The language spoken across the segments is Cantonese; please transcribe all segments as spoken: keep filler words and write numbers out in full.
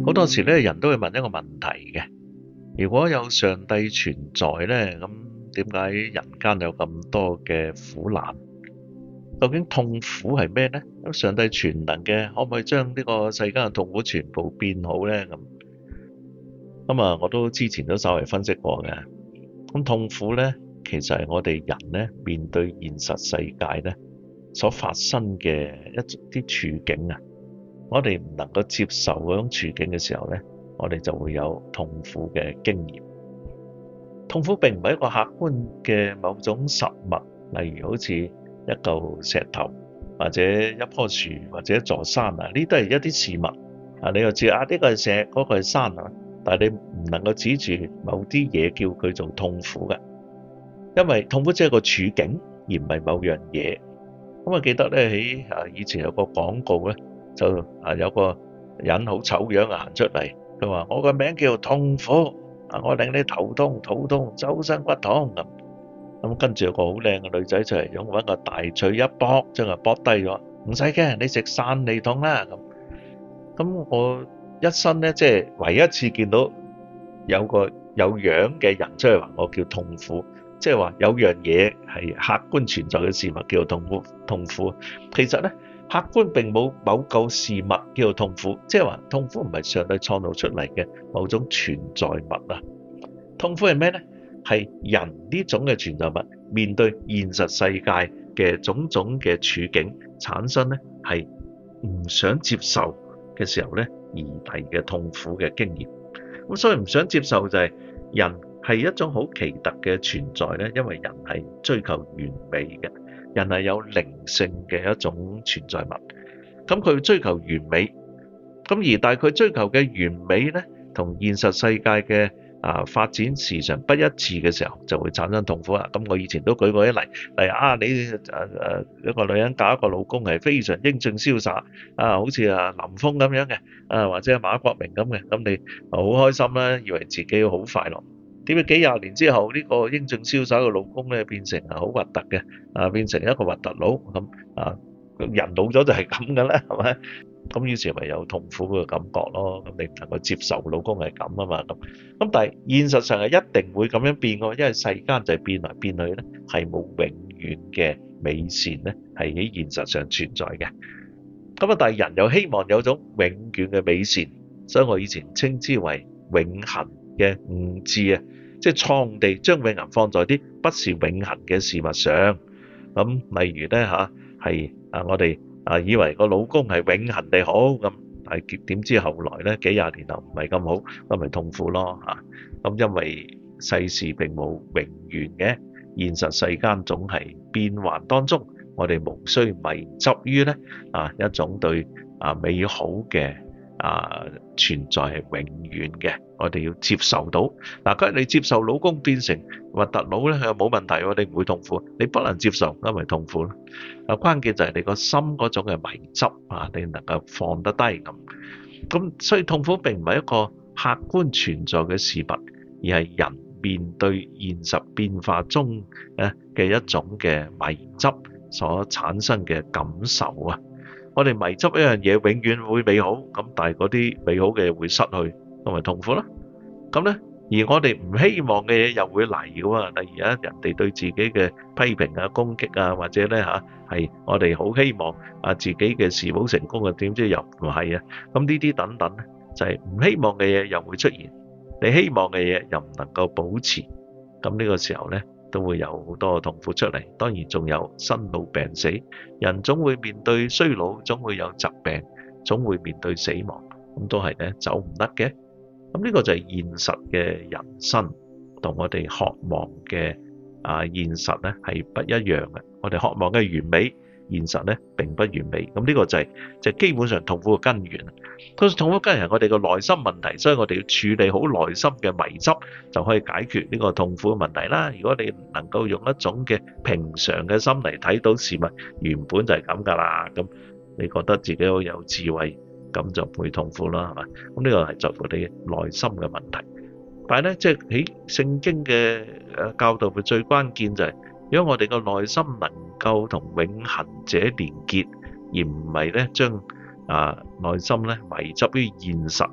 好多時咧，人都會問一個問題嘅：如果有上帝存在咧，咁點解人間有咁多嘅苦難？究竟痛苦係咩咧？咁上帝全能嘅，可唔可以將呢個世間嘅痛苦全部變好咧？咁咁啊，我都之前都稍微分析過嘅。咁痛苦咧，其實係我哋人咧面對現實世界咧所發生嘅一啲處境啊。我哋唔能夠接受嗰種處境嘅時候咧，我哋就會有痛苦嘅經驗。痛苦並唔係一個客觀嘅某種實物，例如好似一嚿石頭，或者一棵樹，或者一座山啊，呢都係一啲事物啊。你又知啊，呢個係石，嗰個係山啊，但係你唔能夠指住某啲嘢叫佢做痛苦嘅，因為痛苦只係個處境，而唔係某樣嘢。咁我記得咧喺啊以前有個廣告咧。就啊有個人好醜樣啊行出嚟，佢話我個名叫痛苦，啊我令你頭痛、肚痛、周身骨痛咁。咁跟住有個好靚嘅女仔就係用揾個大錘一剝，將佢剝低咗。唔使驚，你食散利痛啦咁。咁我一生咧，即係唯一一次見到有個有樣嘅人出嚟話我叫痛苦，即係話有樣嘢係客觀存在嘅事物叫做痛苦。痛苦其實咧。客觀並冇某個事物叫做痛苦，即係話痛苦唔係上帝創造出嚟嘅某種存在物啊。痛苦係咩呢？係人呢種嘅存在物面對現實世界嘅種種嘅處境產生呢係唔想接受嘅時候呢而嚟嘅痛苦嘅經驗。咁所以唔想接受就係人係一種好奇特嘅存在呢，因為人係追求完美嘅。人係有靈性嘅一種存在物，咁佢追求完美，咁而但係佢追求嘅完美咧，同現實世界嘅啊發展時常不一致嘅時候，就會產生痛苦啦。咁我以前都舉過一例，例如啊，你誒誒一個女人嫁一個老公係非常英俊瀟灑啊，好似啊林峰咁樣嘅啊，或者馬國明咁嘅，咁你好開心啦，以為自己好快樂。點解幾廿年之後呢個英俊瀟灑嘅老公咧變成啊好核突嘅啊，變成一個核突佬咁啊？人老咗就係咁嘅啦，係咪？咁於是咪有痛苦嘅感覺咯。咁你唔能夠接受老公係咁啊嘛？咁咁但係現實上係一定會咁樣變嘅，因為世間就係變來變去咧，係冇永遠嘅美善咧係喺現實上存在嘅。咁啊，但係人又希望有種永遠嘅美善，所以我以前稱之為永恆嘅悟智啊，即係創地將永恆放在啲不是永恆嘅事物上。咁例如咧嚇係啊，我哋啊以為個老公係永恆地好咁，但係點知後來咧幾廿年後唔係咁好，咁咪痛苦咯嚇。咁因為世事並冇永遠嘅，現實世間總係變幻當中，我哋無需迷執於咧啊一種對啊美好嘅啊存在係永遠嘅，我哋要接受到。嗱，佢你接受老公變成核突佬咧，佢又冇問題，我哋唔會痛苦。你不能接受，咁咪痛苦咯。啊，關鍵就係你個心嗰種嘅迷執啊，你能夠放得低咁。咁所以痛苦並唔係一個客觀存在嘅事物，而係人面對現實變化中咧嘅一種嘅迷執所產生嘅感受啊。我哋迷執一樣嘢永遠會美好，咁但係嗰啲美好嘅嘢會失去，咁咪痛苦咯。咁咧，而我哋唔希望嘅嘢又會嚟嘅喎。例如啊，人哋對自己嘅批評啊、攻擊啊，或者咧嚇係我哋好希望啊自己嘅事業成功啊，點知又唔係啊。咁呢啲等等咧，就係唔希望嘅嘢又會出現，你希望嘅嘢又唔能夠保持，咁呢個時候咧，都會有好多痛苦出嚟。當然仲有生老病死，人總會面對衰老，總會有疾病，總會面對死亡，咁都係咧走唔甩嘅。咁呢個就係現實嘅人生，同我哋渴望嘅啊現實咧係不一樣嘅。我哋渴望嘅完美，現實咧並不完美。咁呢個就係就係基本上痛苦嘅根源。佢痛苦根源係我哋個內心問題，所以我哋要處理好內心嘅迷執，就可以解決呢個痛苦嘅問題啦。如果你唔能夠用一種嘅平常嘅心嚟睇到事物原本就係咁㗎啦，咁你覺得自己好有智慧，咁就唔會痛苦啦，係嘛？咁呢個係在乎你內心嘅問題。但係咧，即係喺聖經嘅誒教導嘅最關鍵就係，如果我哋個內心能夠同永恆者連結，而唔係咧將啊內心咧迷執於現實咧，係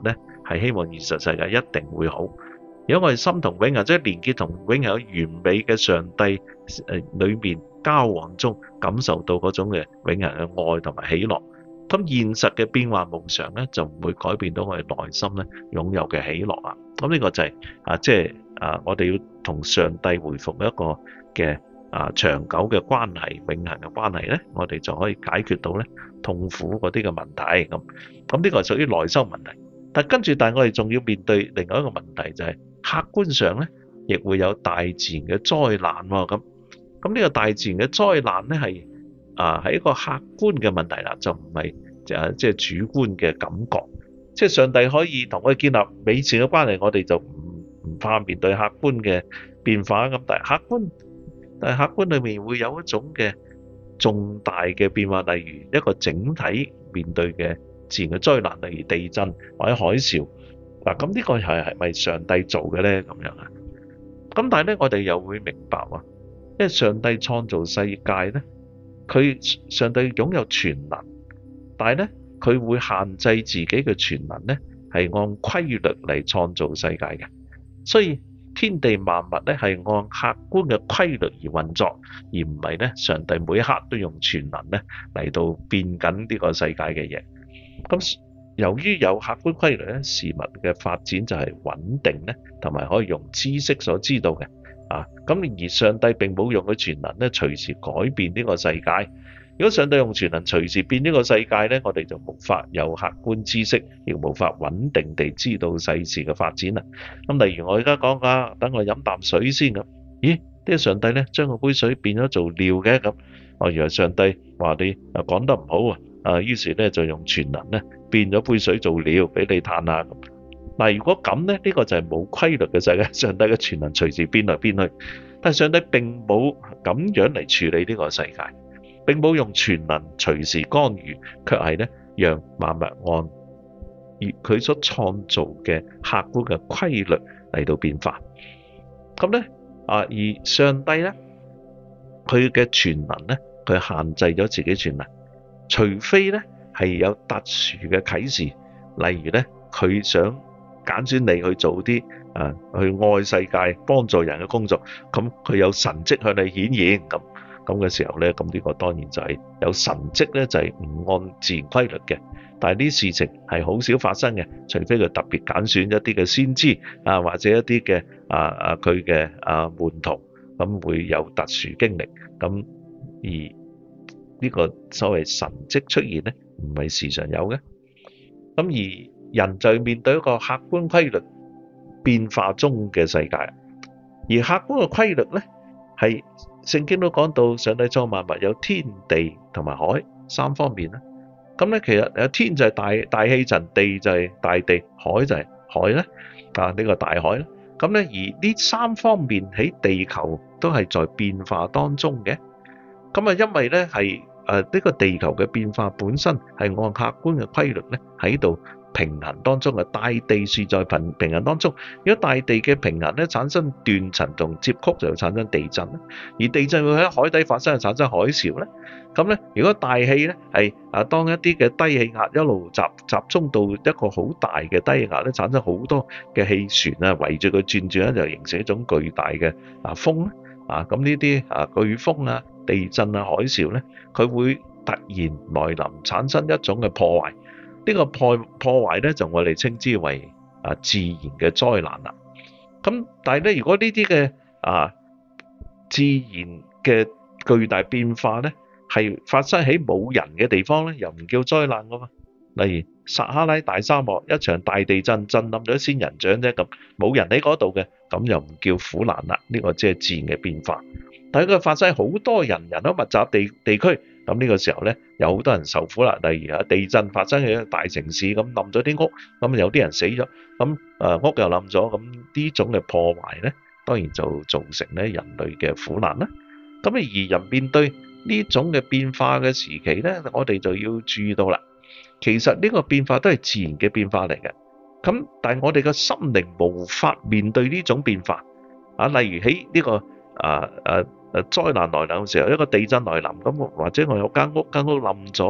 係希望現實世界一定會好。如果我哋心同永恆，即係連結同永恆有完美嘅上帝誒裏面交往中，感受到嗰種嘅永恆嘅愛同埋喜樂，咁現實嘅變幻無常咧，就唔會改變到我哋內心咧擁有嘅喜樂啊！咁呢個就係、是、啊，即係啊，我哋要同上帝回復一個嘅啊長久嘅關係、永恆嘅關係咧，我哋就可以解決到咧痛苦嗰啲嘅問題。咁咁呢個係屬於內心問題。但跟住，但係我哋仲要面對另外一個問題，就係、是、客觀上咧，亦會有大自然嘅災難喎。咁咁呢個大自然嘅災難咧，係啊係一個客觀嘅問題啦，就唔係就係即係主觀嘅感覺。即係上帝可以同我哋建立美善嘅關係，我哋就唔唔怕面對客觀嘅變化。咁但係客觀，但係客觀裏面會有一種嘅重大嘅變化，例如一個整體面對嘅自然嘅災難，例如地震或者海嘯。嗱，咁呢個係係咪上帝做嘅咧？咁樣啊？咁但係咧，我哋又會明白喎，因為上帝創造世界咧，佢上帝擁有全能，但係咧佢會限制自己嘅全能咧，係按規律嚟創造世界嘅。所以天地萬物咧係按客觀嘅規律而運作，而唔係咧上帝每一刻都用全能咧嚟到變緊呢個世界嘅嘢。咁由於有客觀規律咧，事物嘅發展就係穩定咧，同埋可以用知識所知道嘅啊。咁而上帝並冇用佢全能咧，隨時改變呢個世界。如果上帝用全能隨時變呢個世界咧，我哋就無法有客觀知識，亦無法穩定地知道世事嘅發展啦。咁例如我而家講啊，等我飲啖水先咁。咦？呢個上帝咧將個杯水變咗做尿嘅咁。哦，原來上帝話你啊講得唔好啊。啊，於是咧就用全能咧變咗杯水做料俾你嘆下咁。嗱，如果咁咧，呢個就係冇規律嘅世界。上帝嘅全能隨時變來變去，但係上帝並冇咁樣嚟處理呢個世界，並冇用全能隨時干預，卻係咧讓萬物按佢所創造嘅客觀嘅規律嚟到變化。咁咧啊，而上帝咧佢嘅全能咧，佢限制咗自己全能。除非咧係有特殊嘅啟示，例如咧佢想揀選你去做啲啊去愛世界、幫助人嘅工作，咁佢有神蹟向你顯現，咁咁嘅時候咧，咁呢個當然就係有神蹟咧，就係唔按自然規律嘅。但係呢事情係好少發生嘅，除非佢特別揀選一啲嘅先知啊，或者一啲嘅啊啊佢嘅啊門徒，咁會有特殊經歷，咁而。呢個所謂神蹟出現咧，唔係時常有嘅。咁而人就面對一個客觀規律變化中嘅世界，而客觀嘅規律咧，係聖經都講到，上帝創萬物有天地同埋海三方面啦。咁咧其實有天就係大大氣層，地就係大地，海就係海咧啊呢個大海咧。咁咧而呢三方面喺地球都係在變化當中嘅。咁啊，因為咧係。誒呢個地球嘅變化本身係按客觀嘅規律咧喺度平衡當中嘅，大地是在平平衡當中。如果大地嘅平衡咧產生斷層同接曲，就會產生地震啦。而地震會喺海底發生，就產生海嘯咧。咁咧，如果大氣咧係啊，當一啲嘅低氣壓一路集集中到一個好大嘅低氣壓咧，產生好多嘅氣旋啊，圍住佢轉轉咧，就形成一種巨大嘅啊風咧啊。咁呢啲啊颶風啊、地震啊、海嘯咧，佢會突然來臨，產生一種嘅破壞。呢個破破壞咧，就我哋稱之為啊自然嘅災難啦。咁但係咧，如果呢啲嘅啊自然嘅巨大變化咧，係發生喺冇人嘅地方咧，又唔叫災難噶嘛。例如撒哈拉大沙漠一場大地震，震冧咗仙人掌啫，咁冇人喺嗰度嘅，咁又唔叫苦難啦。呢個即係自然嘅變化。但係佢發生好多人人口密集地地區，咁呢個時候咧，有好多人受苦啦。例如啊，地震發生喺大城市，咁冧咗啲屋，咁有啲人死咗，咁誒屋又冧咗，咁呢種嘅破壞咧，當然就造成咧人類嘅苦難啦。咁而人面對呢種嘅變化嘅時期咧，我哋就要注意到啦。其實呢個變化都係自然嘅變化嚟嘅。咁但係我哋嘅心靈無法面對呢種變化啊。例如喺呢個啊啊誒災難來臨嘅時候，一個地震來臨咁，或者我有間屋間屋冧咗，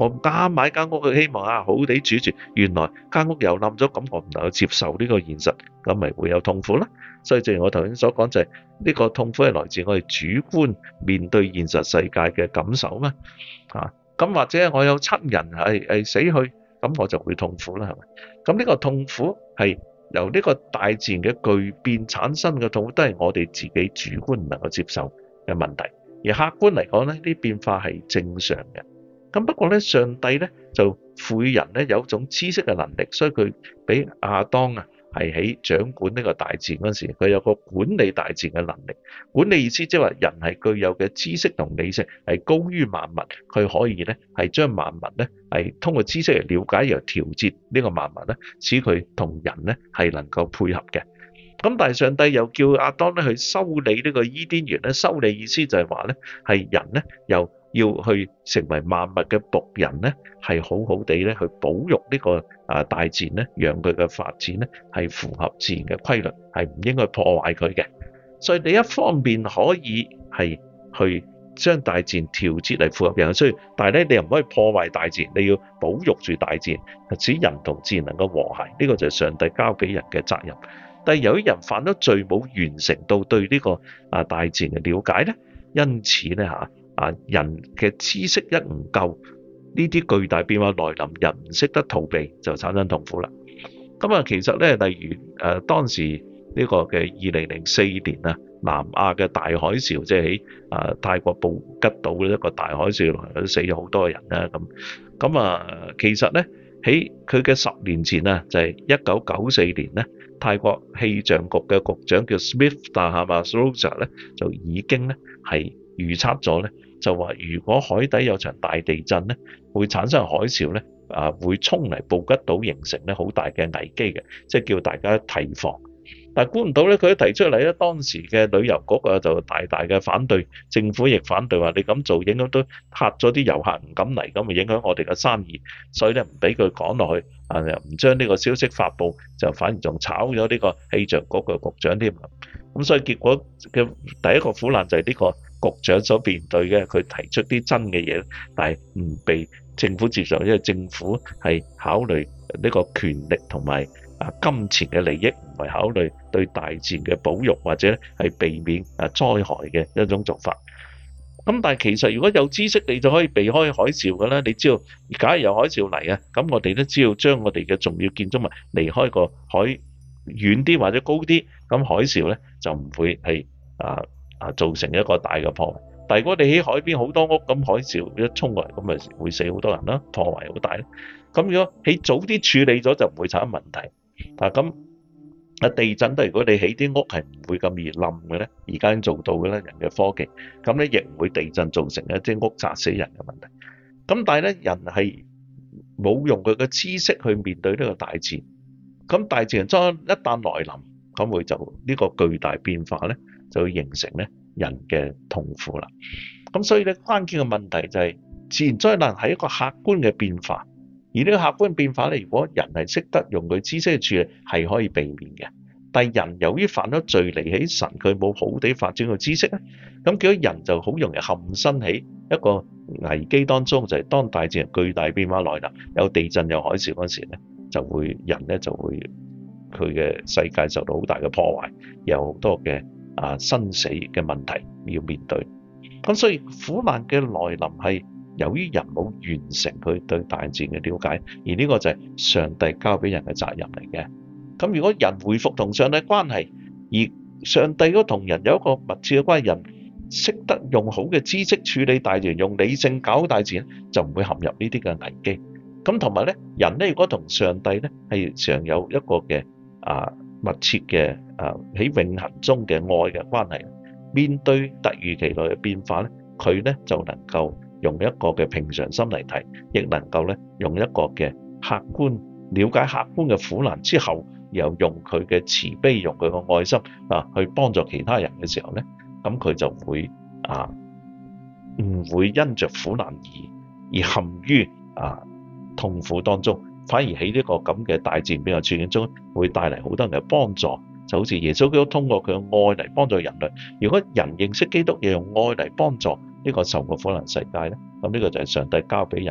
我啱買間屋，佢希望啊好地住住，原來間屋又冧咗，咁我唔能夠接受呢個現實，咁咪會有痛苦啦。所以正如我頭先所講，就係呢個痛苦係來自我哋主觀面對現實世界嘅感受嘛。啊，咁或者我有親人係係死去，咁我就會痛苦啦，係咪？咁呢個痛苦係由呢個大自然嘅巨變產生嘅痛苦，都係我哋自己主觀唔能夠接受嘅問題。而客觀嚟講咧，呢啲變化係正常嘅。咁不過咧，上帝咧就賦予人咧有一種知識嘅能力，所以佢俾亞當啊係喺掌管呢個大自然嗰時，佢有個管理大自然嘅能力。管理意思即係話人係具有嘅知識同理性係高於萬物，佢可以咧係將萬物咧係通過知識嚟了解，又調節呢個萬物咧，使佢同人咧係能夠配合嘅。咁但係上帝又叫亞當咧去修理呢個伊甸園咧，修理意思就係話咧係人咧又要去成為萬物嘅僕人咧，係好好地咧去保育呢個啊大自然咧，讓佢嘅發展咧係符合自然嘅規律，係唔應該破壞佢嘅。所以你一方面可以係去將大自然調節嚟符合人嘅需要，但係咧你又唔可以破壞大自然，你要保育住大自然，使人同自然能夠和諧。呢個就係上帝交俾人嘅責任。但係由於人犯咗罪，冇完成到對呢個啊大自然嘅了解咧，因此咧嚇啊人嘅知識一唔夠，呢啲巨大變化來臨，人唔識得逃避，就產生痛苦啦。咁啊，其實咧，例如誒當時呢個嘅二零零四年啊，南亞嘅大海嘯，即係喺啊泰國布吉島嘅一個大海嘯來，都死咗好多人啦。咁咁啊，其實咧喺佢嘅十年前啊，就係一九九四年咧。泰國氣象局嘅局長叫 Smith Tahamasa 咧，就已經咧係預測咗咧，就話如果海底有場大地震咧，會產生海嘯咧，啊會衝嚟布吉島，形成咧好大嘅危機嘅，即係叫大家提防。但係估唔到咧，佢一提出嚟咧，當時嘅旅遊局啊就大大嘅反對，政府亦反對，話你咁做影響都嚇咗啲遊客唔敢嚟，咁咪影響我哋嘅生意，所以咧唔俾佢講落去，啊又唔將呢個消息發布，就反而仲炒咗呢個氣象局嘅局長添。咁所以結果嘅第一個苦難就係呢個局長所面對嘅，佢提出啲真嘅嘢，但係唔被政府接受，因為政府係考慮呢個權力同埋啊金錢嘅利益，唔係考慮對大自然嘅保育或者係避免啊災害嘅一種做法。咁但係其實如果有知識，你就可以避開海嘯㗎啦。你知道，假如有海嘯嚟啊，咁我哋都知道將我哋嘅重要建築物離開個海遠啲或者高啲，咁海嘯咧就唔會係啊啊造成一個大嘅破壞。但係如果你喺海邊好多屋，咁海嘯一衝過嚟，咁咪會死好多人啦，破壞好大啦。咁如果喺早啲處理咗，就唔會產生問題。啊咁啊地震都如果你起啲屋係唔會咁易冧嘅咧，而家已經做到嘅咧，人嘅科技，咁咧亦唔會地震造成一啲屋砸死人嘅問題。咁但係咧人係冇用佢嘅知識去面對呢個大自然，咁大自然將一旦來臨，咁會就呢個巨大變化咧，就會形成咧人嘅痛苦啦。咁所以咧關鍵嘅問題就係自然災難係一個客觀嘅變化。而呢個客觀變化咧，如果人係識得用佢知識去處理，係可以避免嘅。但係人由於犯咗罪離棄神，佢冇好地發展個知識咧，咁結果人就好容易陷身喺一個危機當中，就係、是、當大自然巨大變化來臨，有地震有海嘯嗰時咧，就會人咧就會佢嘅世界受到好大嘅破壞，有好多嘅啊生死嘅問題要面對。咁所以苦難嘅來臨係由於人冇完成佢對大自然嘅了解，而呢個就係上帝交俾人嘅責任嚟嘅。咁如果人回復同上帝關係，而上帝嗰同人有一個密切嘅關係，人識得用好嘅知識處理大自然，用理性搞大自然，就唔會陷入呢啲嘅危機。咁同埋咧，人咧如果同上帝咧係常有一個嘅啊密切嘅啊喺永恆中嘅愛嘅關係，面對突如其來嘅變化咧，佢咧就能夠用一個嘅平常心嚟睇，亦能夠咧用一個嘅客觀了解客觀嘅苦難之後，又用佢嘅慈悲，用佢嘅愛心啊去幫助其他人嘅時候咧，咁佢就會啊唔會因着苦難而而陷於啊痛苦當中，反而喺呢個咁嘅大自然變化處境中，會帶嚟好多人嘅幫助。就好似耶穌基督通過佢嘅愛嚟幫助人類。如果人認識基督，又用愛嚟幫助呢個受過苦難世界咧，咁呢個就係上帝交俾人嘅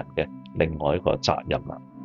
另外一個責任啦。